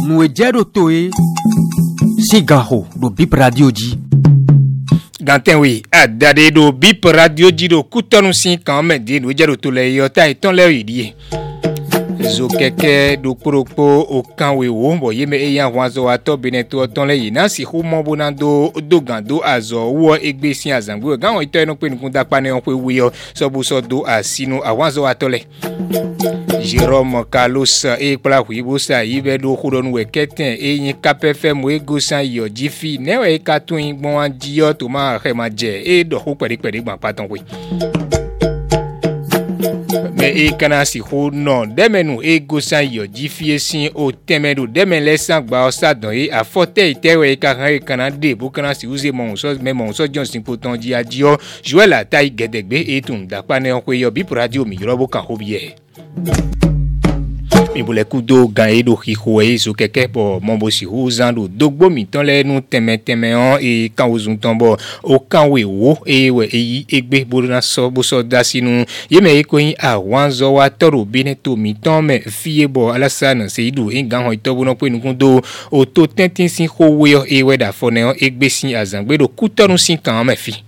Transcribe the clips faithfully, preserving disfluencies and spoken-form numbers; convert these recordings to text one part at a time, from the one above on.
nous ejero toe sigaho do bip radio di Ganten oui adade do bip radio di do kutonu sin kan me di no ejero to le yo ta iton le yi zo keke do propo o kan we wo bo ye me eyan wanzo ato beneto ton le yi na si hu mo bonando do gando azo wo egbe sin azangbo gan won ito enu pe nukun dapa ne on pe wi yo so bu so do asinu awanzo ato le Jérôme Carlos e pla huibo sa ibe do khudonu we keten e yin kapefem we gosan yo jifi ne we katun gbon anjiyo to ma re ma je e do ho pere pere gban paton we me e kana si ho no demenu e gosan yo jifi esin o temedo demen lesan gba o sa don e afote itewe ka ran e kana de bo kana si uze mon so me mon so Johnson poton ji adio Joel atai gedegbe e tun da pa ne on ko yo bi radio mi robo kan hobiye mi bole kudo gae do hihoe zo keke po mombo si huzando dogbo mi ton le nu teme teme on e kan ozun tombo o kan we wo e we eyi egbe boruna so bo so dasinu ye me ko yin awan zo wa toro bineto mi ton me fie bo alasana se idu e gan ho itobo no pe nukun do o to tentin sin ho we e we da fone on egbe sin azangbe do kutonu sin kan me fi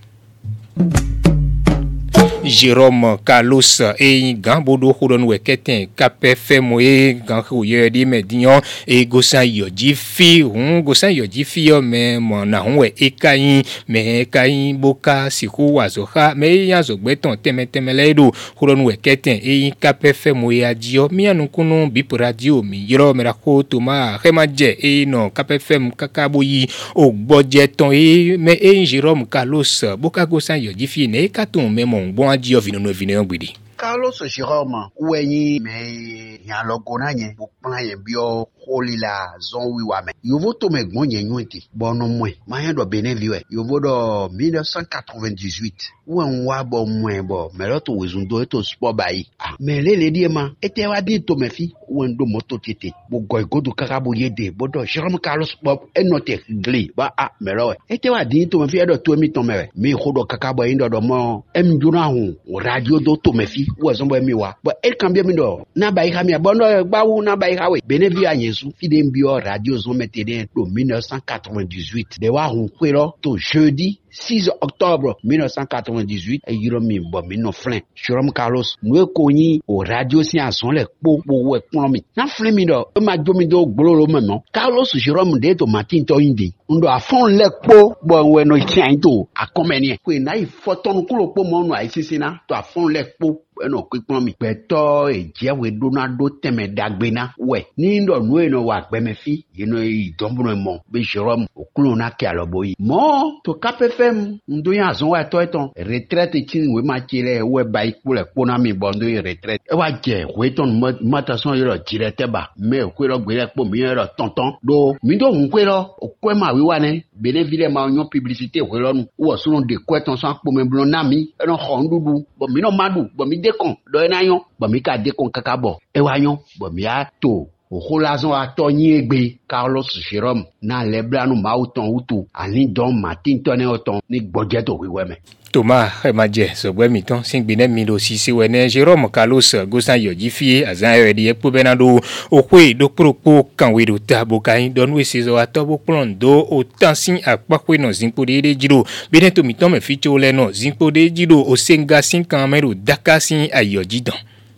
Jérôme Carlos e gambodo khudon we keten kapfe moye gan khoye di medion e gosan yo jifi hun gosan yo jifi yo me mo na hun we e kayin me kayin boka siku wazoha me yan zo gbeton teme teme ledo khudon we keten e kapfe moye adio mi anu kunu bi radio mi yoro me ra ko to ma khemaje e no kapfe kakaboyi o gboje ton e me e Jérôme Carlos boka gosan yo jifi ne katon me mo bon adio vino no vino gbidi Carlos Jérôme ouenyi me yan logo na yen bo plan yen bio holi la zon wi wa me yovo to me gbon yen yunti bono mwe ma yan do benen viwe yovo do mille neuf cent quatre-vingt-dix-huit wen wa bo mwe bo me lo to wezun do to sport bayi ah me le le di ma ete wa di to me fi wen do moto tete bo goy godu kakabo yede bo do Jérôme Carlos Bob enote gli ba ah me lo ete wa di to me fi do to mi to me mi khodo kakabo yin do do mo em juna hu radio do to me fi wa zombo mi wa bo el kambia mi do na bayi ha mi bono gba wu na bayi ha we benevi anyesu fide mbio radio zo metede do mille neuf cent quatre-vingt-dix-huit de wa hu kwero to jeudi six octobre mille neuf cent quatre-vingt-dix-huit e yiro mi bo mi no flin Jérôme Carlos no ko yin o radio si ason le po po we pon mi na flin mi do e ma jo mi do gboro mo no Carlos Jérôme de to Martin to indi ndo afon le po bo we no tian to akomeni ko na ifoton kulo po mo no aisisi na to afon le po eno kwipon mi peto ejewe donado teme dagbena we ni ndo nu eno wa gbeme fi yeno idombuno mo be Jérôme okulo na ke aloboyi mo to kapefem ndo yan azon wa to eton retraite tin we ma kire we ba ipo le pona mi bondo retraite e wa je we ton matason yo direte ba me okwero gbere po mi yo tonton do mi do nkwero okwema wi wa ne benevile ma onyo publicité we lonu wo so de kweton so po me blon na mi eno khondudu bo mi no madu bo mi dekon do na yon bo mi ka dekon kakabo e wa yon bo mi a to o relation a tonyi egbe Carlos Jérôme na leblanu mauton utu ani don Martin tone oton ni gbojeto wiweme Thomas Emaje so gbe mi ton sin gbene mi do si si wene Jérôme Carlos gosan yo jifie azan yo di epo benado o kwe do propo kan we do tabo kan don we sezo atobo plan do o tansin apakwe no zinpo de jiro beneto mi ton me ficho le no zinpo de jiro o senga sin kan mero dakasin ayo jidan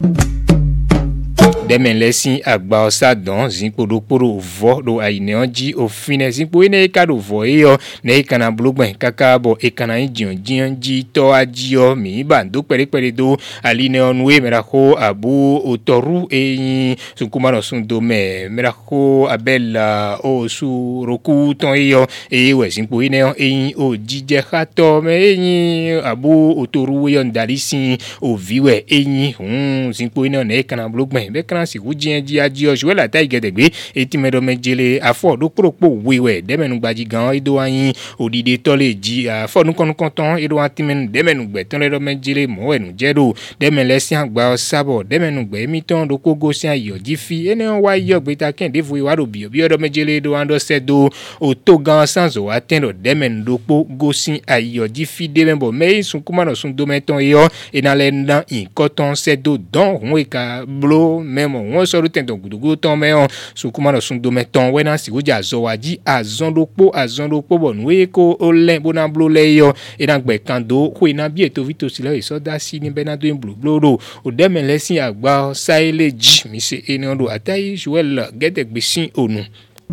Demen lesin agba osa don zinpo do poro vo do aine onji o fine zinpo ene ka do vo eyo ne kana blogben kakabo e kana injion jinji to ajio mi bando pere pere do aline onwe merako abu otoru e sunkumano sundo me merako abella o su roku ton eyo e we zinpo ene e o jije khato me e abu otoru yo ndalisi o viwe e hun zinpo ene ne kana blogben be si wujien ji adio Joel atai gedegbe eti medo mejele afo do propo wewe demenu gbaji gan ido ayin odide tole ji afo nu kon konton ido atimen demenu gbe ton le mejele mo enu jedo demen lesin agba sabo demenu gbe mi ton do kogo si ayo jifi ene wa yo gbe ta ken devu wa do bi obi odo mejele do ando sedo o to gan sanzo atendo demen do po gosin ayo jifi demembo me sun kuma no sun do meton yo enale ndan in koton sedo don we ka blo me mo won so ro ten ton gudugu ton me on so kuma no sun do me ton we na si wo ja zo wa ji azon do po azon do po bo nu e ko o le bo na blo le yo e na gbe kan do ko ina bi eto vito si le so da si ni be na do en blo blo ro o de me lesin agba saile ji mi se eni ondo atayi Joel gete gbesin onu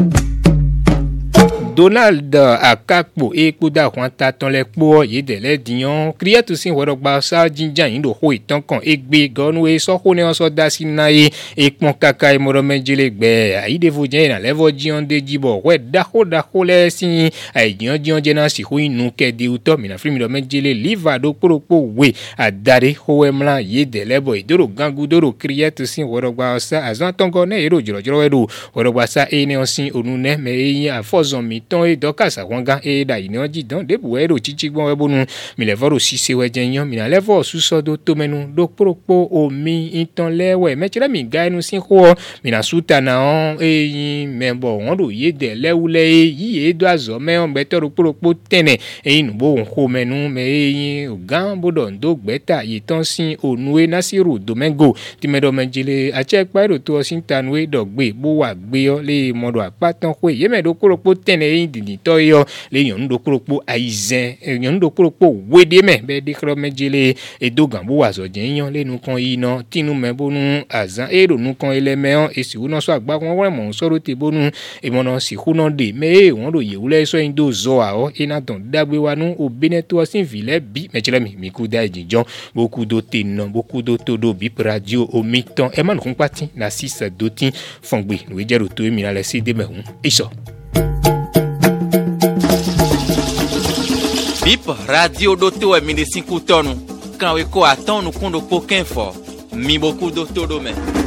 Donald Akakpo Ekuda Kwanta ton le po ye de le dion kriya to sin wodo gba sa jinjan yin do ho itan kan egbe gonu e so ko ne on so da si na e epon kaka e moro menjele gbe ayi de vo jen na levo jion de jibo we da ho da ho le sin ayi jion jion je na si ho inu ke de uto mi na free mi do menjele liva do poropo we adare ho emla ye de lebo idoro gangu doro kriya to sin wodo gba sa azan ton go ne ero jiro jiro we do wodo gba sa e ne on sin onu ne me yin afozon mi ton e dokasa wanga e da ino ji don de buero chichi gbon we bonu mi le voro sise we jenyan mi na levo suso do to menu do poropo omi itan lewe me chire mi ga enu sin ho mi na suta na on e yin membo won do ye de lewule yi e do azo me on gbe toro poropo tene e inu bo won ho menu me e yin ogan bodo ndo gbeta yi ton sin onue Nasiru Domingo ti medo menjile a che pa ro to sin tanwe do gbe bo wa gbe yo le modo apatan ho ye me do poropo tene dini to yo le yon do kropo aizen yon do kropo wede me be de kro mejele e dogan bo wazo jenyan le nu kan ina tinu me bonu azan e ro nu kan ele me on e si uno so agba won won mo so ro te bonu e mo no si ku no de me won ro ye wule so indo zo a o ina don dagbe wa nu obine to sin vile bi mejele mi mi ku da jinjon beaucoup do te no beaucoup do to do bi radio o miton e man kun pati na six dotin fongbe we jero to mi na le si de me hun iso Bip radio doto e mine cinco tonu. Quand we ko atonu kundo poken fo. Mi beaucoup doto do men.